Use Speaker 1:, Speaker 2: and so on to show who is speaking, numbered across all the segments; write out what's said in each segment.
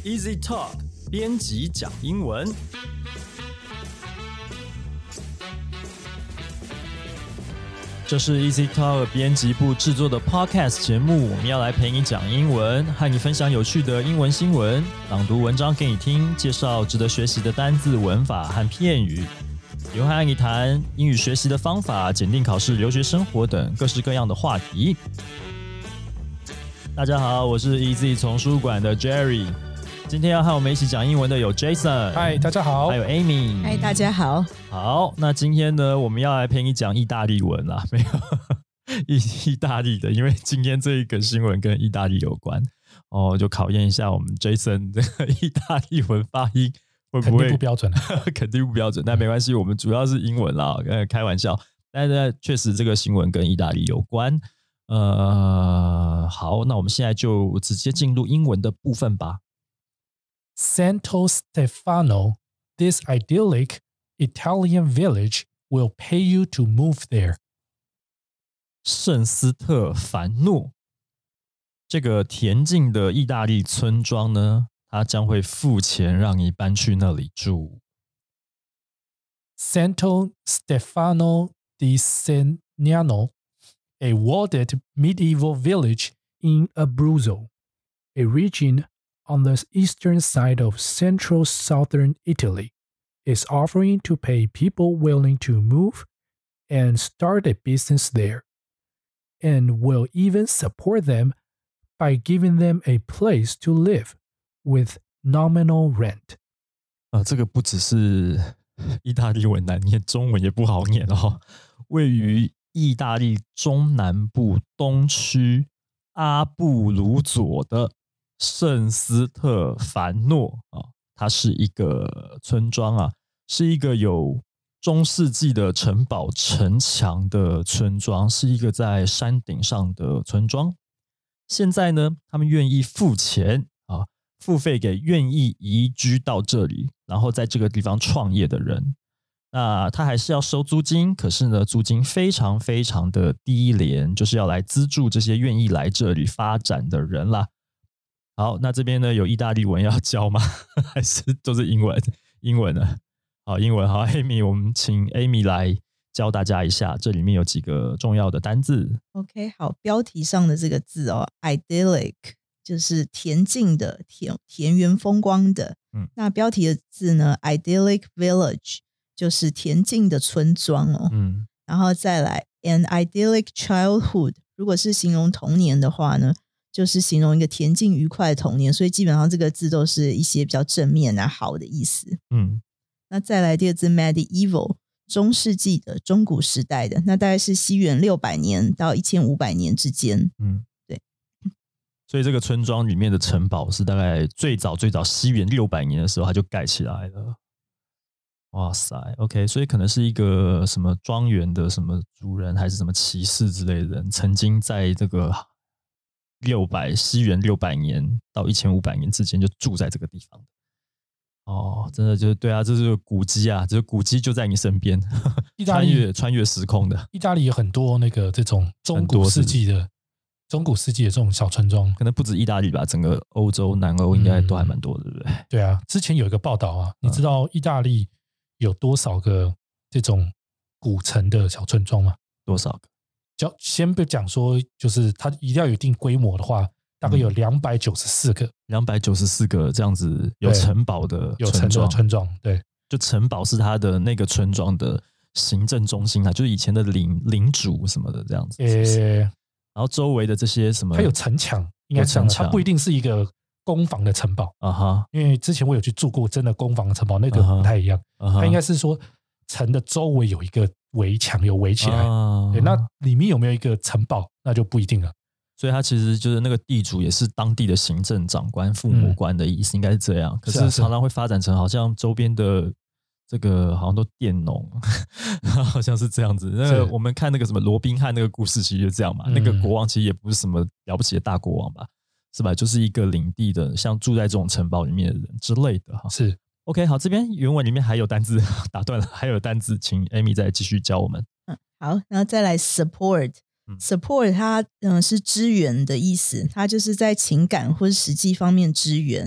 Speaker 1: Easy Talk 编辑讲英文。这是 Easy Talk 编辑部制作的 Podcast 节目，我们要来陪你讲英文，和你分享有趣的英文新闻，朗读文章给你听，介绍值得学习的单字、文法和片语，也会和你谈英语学习的方法、检定考试、留学生活等各式各样的话题。大家好，我是 Easy 丛书馆的 Jerry。今天要和我们一起讲英文的有 Jason，
Speaker 2: 嗨，大家好；
Speaker 1: 还有 Amy，
Speaker 3: 嗨，大家好。
Speaker 1: 好，那今天呢，我们要来陪你讲意大利文啦，没有意大利的，因为今天这一个新闻跟意大利有关哦，就考验一下我们 Jason 的意大利文发音会不会
Speaker 2: 肯定不标准
Speaker 1: 肯定不标准，但没关系，我们主要是英文啦，开玩笑。但是确实这个新闻跟意大利有关。好，那我们现在就直接进入英文的部分吧。
Speaker 2: Santo Stefano, this idyllic Italian village will pay you to move there.
Speaker 1: 圣斯特凡诺这个恬静的意大利村庄呢，它将会付钱让你搬去那里住。
Speaker 2: Santo Stefano di Segnano, a walled medieval village in Abruzzo, a region on the eastern side of central southern Italy, is offering to pay people willing to move and start a business there, and will even support them by giving them a place to live with nominal rent.
Speaker 1: 这个不只是意大利文难念，中文也不好念哦。位于意大利中南部东区阿布鲁佐的圣斯特凡诺它是一个村庄啊，是一个有中世纪的城堡城墙的村庄，是一个在山顶上的村庄。现在呢，他们愿意付钱付费给愿意移居到这里，然后在这个地方创业的人。那他还是要收租金，可是呢，租金非常非常的低廉，就是要来资助这些愿意来这里发展的人啦。好，那这边呢有意大利文要教吗？还是都是英文？英文呢？好，英文好 ，Amy， 我们请 Amy 来教大家一下，这里面有几个重要的单字。
Speaker 3: OK， 好，标题上的这个字哦 ，idyllic 就是恬静的、田园风光的。那标题的字呢 ，idyllic village 就是恬静的村庄哦。然后再来 an idyllic childhood， 如果是形容童年的话呢，就是形容一个恬静愉快的童年，所以基本上这个字都是一些比较正面好的意思。那再来第二字 medieval， 中世纪的、中古时代的，那大概是西元600年到1500年之间。对。
Speaker 1: 所以这个村庄里面的城堡是大概最早西元600年的时候它就盖起来了。哇塞 ，OK， 所以可能是一个什么庄园的什么主人，还是什么骑士之类的人，曾经在这个西元600年到1500年之间就住在这个地方。真的就是对啊，这是古迹啊，这古迹就在你身边，穿越时空的。
Speaker 2: 意大利有很多这种中古世纪的这种小村庄，
Speaker 1: 可能不止意大利吧，整个欧洲、南欧应该都还蛮多的，对不对？
Speaker 2: 对啊，之前有一个报道啊，你知道意大利有多少个这种古城的小村庄吗？
Speaker 1: 多少个？
Speaker 2: 先不讲说，就是它一定要有一定规模的话，大概有294个
Speaker 1: ，294个这样子有城堡的
Speaker 2: 村庄，对，
Speaker 1: 就城堡是它的那个村庄的行政中心就是以前的领主什么的这样子。然后周围的这些什么，
Speaker 2: 它有城墙，应该这样，它不一定是一个攻防的城堡因为之前我有去住过真的攻防的城堡，那个不太一样，它应该是说城的周围有一个围墙，有围起来，对，那里面有没有一个城堡，那就不一定了。
Speaker 1: 所以它其实就是那个地主也是当地的行政长官、父母官的意思，应该是这样。可是常常会发展成好像周边的这个好像都佃农，好像是这样子。那个我们看那个什么罗宾汉那个故事，其实就这样嘛。那个国王其实也不是什么了不起的大国王吧，是吧？就是一个领地的，像住在这种城堡里面的人之类的哈。
Speaker 2: 是
Speaker 1: OK， 好，这边原文里面还有单字，打断了，还有单字，请 Amy 再继续教我们。
Speaker 3: 好，然后再来 support。support 它是支援的意思，它就是在情感或是实际方面支援。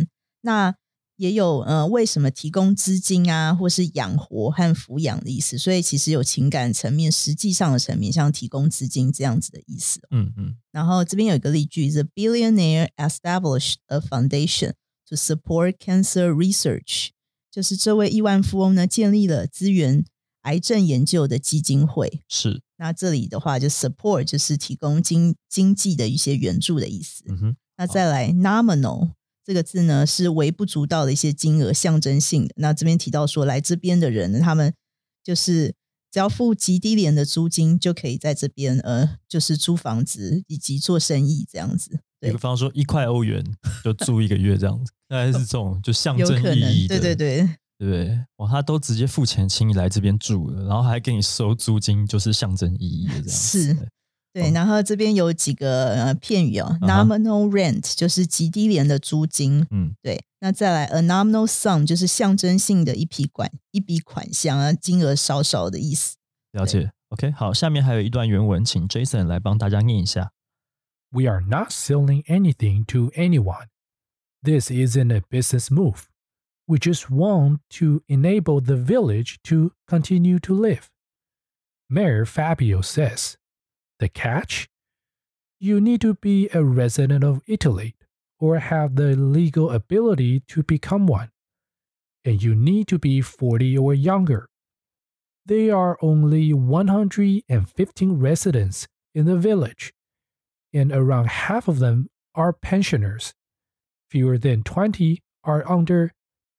Speaker 3: 那也有为什么提供资金啊，或是养活和抚养的意思，所以其实有情感层面、实际上的层面，像提供资金这样子的意思。然后这边有一个例句 ：The billionaire established a foundation to support cancer research， 就是这位亿万富翁呢建立了资源癌症研究的基金会。
Speaker 1: 是，
Speaker 3: 那这里的话就 support 就是提供经济的一些援助的意思。那再来 nominal。这个字呢是微不足道的一些金额，象征性的。那这边提到说来这边的人呢，他们就是只要付极低廉的租金就可以在这边就是租房子以及做生意这样子。
Speaker 1: 比方说1块欧元就住1个月这样子，大概是这种就象征意义的。
Speaker 3: 对对对，
Speaker 1: 哇，他都直接付钱请你来这边住了，然后还给你收租金，就是象征意义的这样子。
Speaker 3: 是。对，然后这边有几个片语哦、nominal rent 就是极低廉的租金，对，那再来 a nominal sum 就是象征性的一笔款项啊，金额少少的意思。
Speaker 1: 了解 ，OK， 好，下面还有一段原文，请 Jason 来帮大家念一下。
Speaker 2: We are not selling anything to anyone. This isn't a business move. We just want to enable the village to continue to live. Mayor Fabio says.The catch? You need to be a resident of Italy or have the legal ability to become one. And you need to be 40 or younger. There are only 115 residents in the village, and around half of them are pensioners. Fewer than 20 are under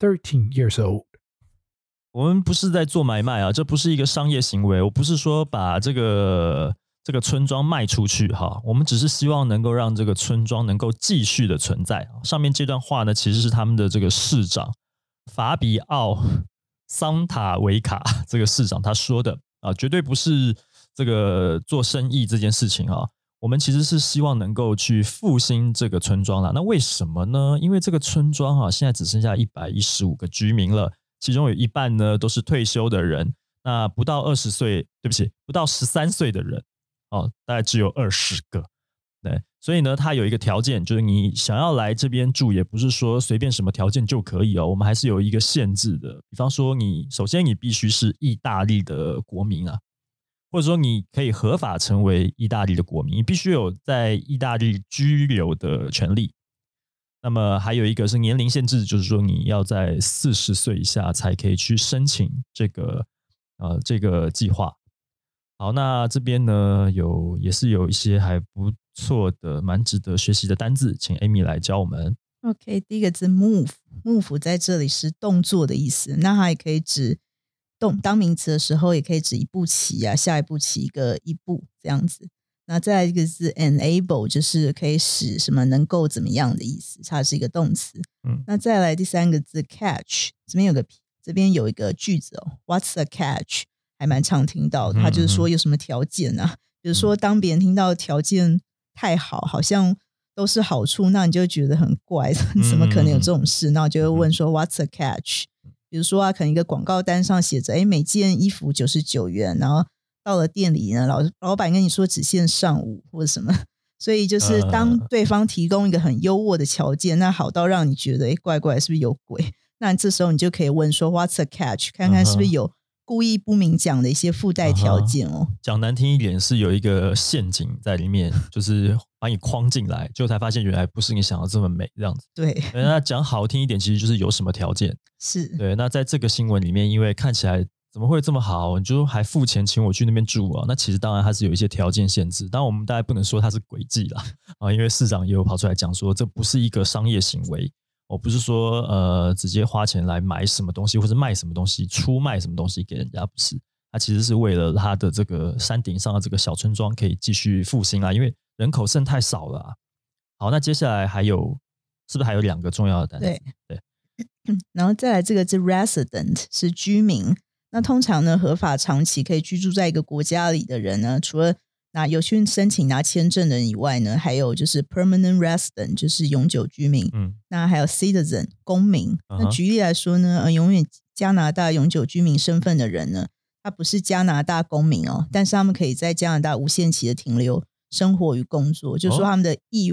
Speaker 2: 13 years old.
Speaker 1: 我们不是在做买卖啊，这不是一个商业行为。我不是说把这个村庄卖出去哈，我们只是希望能够让这个村庄能够继续的存在。上面这段话呢，其实是他们的这个市长法比奥桑塔维卡这个市长他说的啊，绝对不是这个做生意这件事情啊。我们其实是希望能够去复兴这个村庄啦。那为什么呢？因为这个村庄啊，现在只剩下115个居民了，其中有一半呢都是退休的人，那不到20岁，对不起，不到13岁的人。大概只有20个，对，所以呢，它有一个条件，就是你想要来这边住，也不是说随便什么条件就可以哦，我们还是有一个限制的。比方说，首先你必须是意大利的国民啊，或者说你可以合法成为意大利的国民，你必须有在意大利居留的权利。那么还有一个是年龄限制，就是说你要在40岁以下才可以去申请这个计划。好，那这边呢也是有一些还不错的、蛮值得学习的单字，请 Amy 来教我们。
Speaker 3: OK， 第一个字 move 在这里是动作的意思，那它也可以指当名词的时候，也可以指一步棋啊，下一步棋一步这样子。那再来一个字 enable 就是可以使什么能够怎么样的意思，它是一个动词。那再来第三个字 catch， 这边有一个句子哦 ，What's a catch？还蛮常听到的，他就是说有什么条件啊，比如说当别人听到条件太好，好像都是好处，那你就会觉得很怪，怎么可能有这种事？那我就会问说 What's a catch？ 比如说啊，可能一个广告单上写着每件衣服99元，然后到了店里呢，老板跟你说只限上午或者什么，所以就是当对方提供一个很优渥的条件，那好到让你觉得怪怪，是不是有鬼？那这时候你就可以问说 What's a catch？ 看看是不是有故意不明讲的一些附带条件哦。
Speaker 1: 讲难听一点是有一个陷阱在里面，就是把你框进来，结果才发现原来不是你想的这么美这样子。
Speaker 3: 对，
Speaker 1: 那讲好听一点，其实就是有什么条件。
Speaker 3: 是，
Speaker 1: 对。那在这个新闻里面，因为看起来怎么会这么好，你就还付钱请我去那边住啊？那其实当然它是有一些条件限制，当然我们大概不能说它是诡计啦啊，因为市长也有跑出来讲说，这不是一个商业行为。我不是说直接花钱来买什么东西或者卖什么东西，出卖什么东西给人家，不是。它其实是为了它的这个山顶上的这个小村庄可以继续复兴啊，因为人口剩太少了啊。好，那接下来是不是还有2个重要的单词？对，
Speaker 3: 然后再来这个字 resident 是居民。那通常呢，合法长期可以居住在一个国家里的人呢，除了有去申请拿签证的人以外呢，还有就是 permanent resident 就是永久居民。那还有 citizen 公民。那举例来说呢，拥有加拿大永久居民身份的人呢，他不是加拿大公民哦，但是他们可以在加拿大无限期的停留、生活与工作，就是说他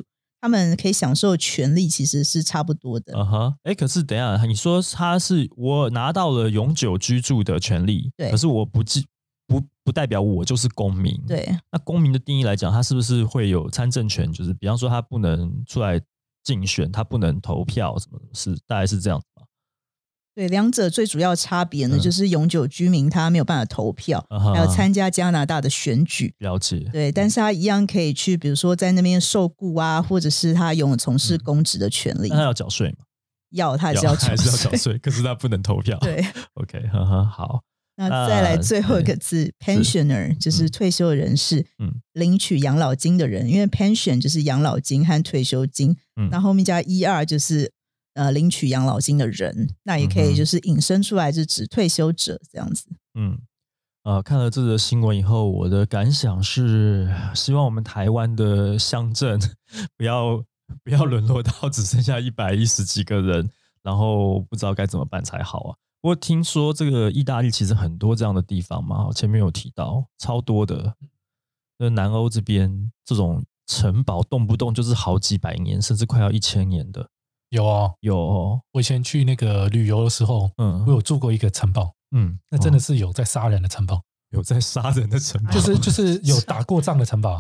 Speaker 3: 他们可以享受的权利其实是差不多的。
Speaker 1: 可是等一下，你说他是我拿到了永久居住的权利，
Speaker 3: 对，
Speaker 1: 可是我不代表我就是公民。
Speaker 3: 对，
Speaker 1: 那公民的定义来讲，他是不是会有参政权？就是比方说他不能出来竞选，他不能投票，什么是大概是这样子吗？
Speaker 3: 对，两者最主要差别呢，就是永久居民他没有办法投票，还有参加加拿大的选举。
Speaker 1: 了解。
Speaker 3: 对，但是他一样可以去，比如说在那边受雇啊，或者是他拥有从事公职的权利。
Speaker 1: 那他要缴税吗？
Speaker 3: 他还是要缴
Speaker 1: 税，可是他不能投票。
Speaker 3: 对
Speaker 1: ，OK， 好。
Speaker 3: 那再来最后一个字 pensioner 就是退休人士，领取养老金的人，因为 pension 就是养老金和退休金，那后面加ER就是领取养老金的人，那也可以就是引申出来是指退休者这样子。
Speaker 1: 看了这个新闻以后，我的感想是希望我们台湾的乡镇不要沦落到只剩下110几个人，然后不知道该怎么办才好啊。不过听说这个意大利其实很多这样的地方嘛，前面有提到超多的，南欧这边这种城堡动不动就是好几百年甚至快要1000年的。有
Speaker 2: 我以前去那个旅游的时候，我有住过一个城堡，那真的是有在杀人的城堡，
Speaker 1: 有在杀人的城堡，
Speaker 2: 就是有打过仗的城堡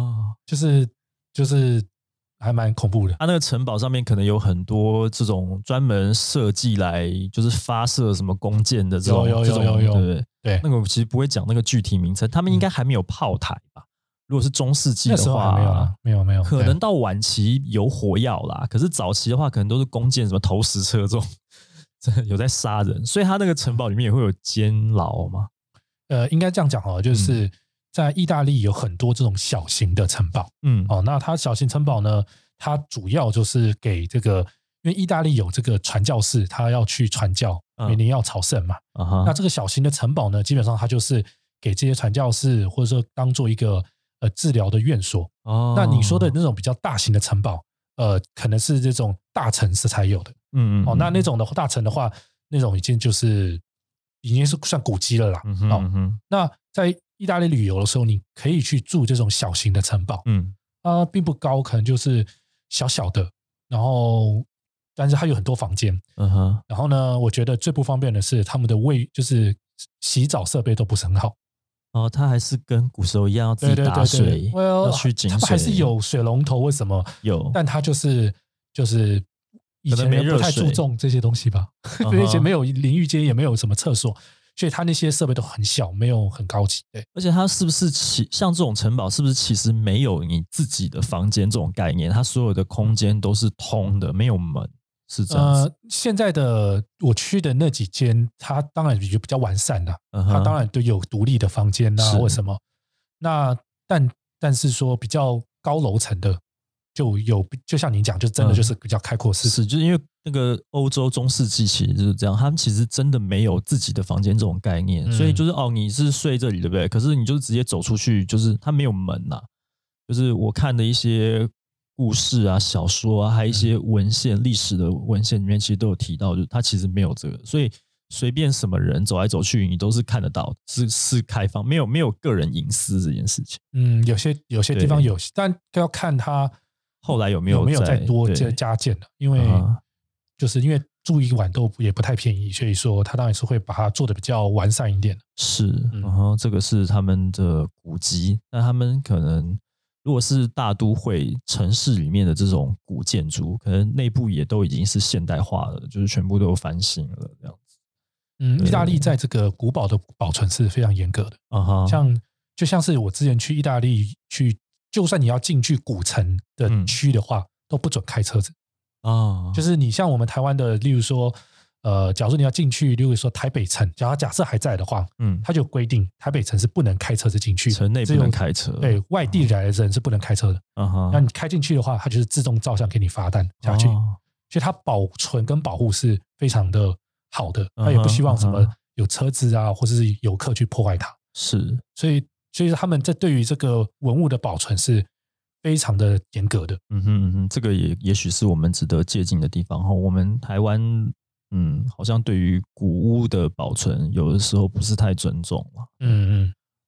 Speaker 2: 就是还蛮恐怖的。
Speaker 1: 它那个城堡上面可能有很多这种专门设计来就是发射什么弓箭的这种，
Speaker 2: 有
Speaker 1: 对，那个其实不会讲那个具体名称，他们应该还没有炮台吧？如果是中世纪的话，
Speaker 2: 没有，
Speaker 1: 可能到晚期有火药啦，可是早期的话可能都是弓箭，什么投石车这种，真的有在杀人，所以他那个城堡里面也会有监牢吗？
Speaker 2: 应该这样讲就是在意大利有很多这种小型的城堡，那它小型城堡呢，它主要就是给这个，因为意大利有这个传教士，他要去传教，每年要朝圣嘛，那这个小型的城堡呢，基本上它就是给这些传教士，或者说当做一个治疗的院所。那你说的那种比较大型的城堡，可能是这种大城市才有的，那种的大城的话，那种已经是算古迹了啦。那在意大利旅游的时候，你可以去住这种小型的城堡，并不高，可能就是小小的，然后但是它有很多房间，然后呢，我觉得最不方便的是他们的就是洗澡设备都不是很好。
Speaker 1: 它还是跟古时候一样要自己打水，要去井水，
Speaker 2: 他们还是有水龙头，为什么
Speaker 1: 有？
Speaker 2: 但它就是以前人不太注重这些东西吧，而且没有淋浴间，也没有什么厕所，所以它那些设备都很小，没有很高级。对，
Speaker 1: 而且它是不是像这种城堡，是不是其实没有你自己的房间这种概念？它所有的空间都是通的，没有门，是这样子。
Speaker 2: 现在的我去的那几间，它当然比较完善的，它当然都有独立的房间啊，或什么。那但是说比较高楼层的，就像你讲，就真的就是比较开阔式。
Speaker 1: 是，就是因为那个欧洲中世纪其实就是这样，他们其实真的没有自己的房间这种概念，所以就是你是睡这里对不对？可是你就是直接走出去，就是它没有门呐。就是我看的一些故事啊、小说啊，还有一些文献、历史的文献里面，其实都有提到，就是它其实没有这个，所以随便什么人走来走去，你都是看得到，是开放，没有个人隐私这件事情。
Speaker 2: 有些地方有，但要看它
Speaker 1: 后来有没有
Speaker 2: 再多加建的，因为就是因为住一晚也不太便宜，所以说他当然是会把它做的比较完善一点。
Speaker 1: 是，然后这个是他们的古迹，那他们可能如果是大都会城市里面的这种古建筑，可能内部也都已经是现代化了，就是全部都有翻新了这样子。
Speaker 2: 意大利在这个古堡的保存是非常严格的，就像是我之前去意大利去，就算你要进去古城的区的话，都不准开车子。就是你像我们台湾的，例如说，假如说你要进去，例如说台北城，假设还在的话，他就规定台北城是不能开车子进去，
Speaker 1: 城内不能开车，
Speaker 2: 对，外地来的人是不能开车的。那你开进去的话，他就是自动照相给你罚单下去，所以它保存跟保护是非常的好的，他也不希望什么有车子啊，或者是游客去破坏它。
Speaker 1: 是，
Speaker 2: 所以他们对于这个文物的保存是非常的严格的。
Speaker 1: 这个也许是我们值得借鉴的地方。我们台湾好像对于古屋的保存有的时候不是太尊重嘛。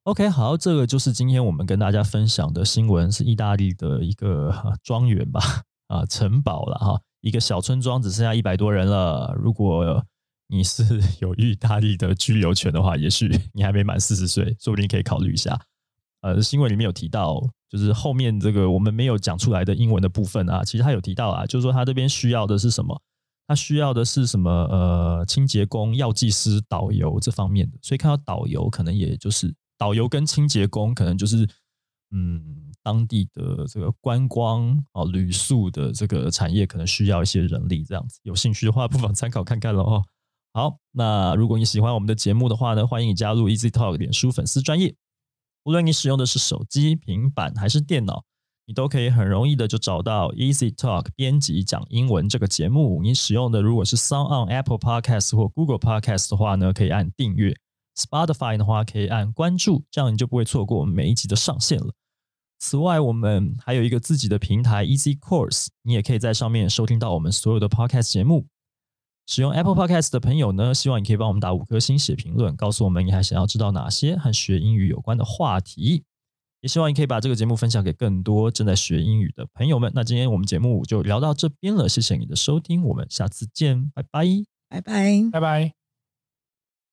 Speaker 1: OK， 好，这个就是今天我们跟大家分享的新闻，是意大利的一个庄园吧，城堡了哈，一个小村庄只剩下100多人了。如果你是有意大利的居留权的话，也许你还没满40岁，说不定可以考虑一下。新闻里面有提到，就是后面这个我们没有讲出来的英文的部分啊，其实他有提到啊，就是说他这边需要的是什么？他需要的是什么？清洁工、药剂师、导游这方面的。所以看到导游，可能也就是导游跟清洁工，可能就是当地的这个观光旅宿的这个产业，可能需要一些人力这样子。有兴趣的话，不妨参考看看咯哦。好，那如果你喜欢我们的节目的话呢，欢迎你加入 Easy Talk 脸书粉丝专页。无论你使用的是手机、平板还是电脑，你都可以很容易的就找到 Easy Talk 编辑讲英文这个节目。你使用的如果是 SoundOn、Apple Podcast 或 Google Podcast 的话呢，可以按订阅。Spotify 的话可以按关注，这样你就不会错过我们每一集的上线了。此外，我们还有一个自己的平台 Easy Course， 你也可以在上面收听到我们所有的 Podcast 节目。使用 Apple Podcast 的朋友呢，希望你可以帮我们打5颗星写评论，告诉我们你还想要知道哪些和学英语有关的话题。也希望你可以把这个节目分享给更多正在学英语的朋友们。那今天我们节目就聊到这边了，谢谢你的收听，我们下次见，拜拜，
Speaker 3: 拜拜，
Speaker 2: 拜拜。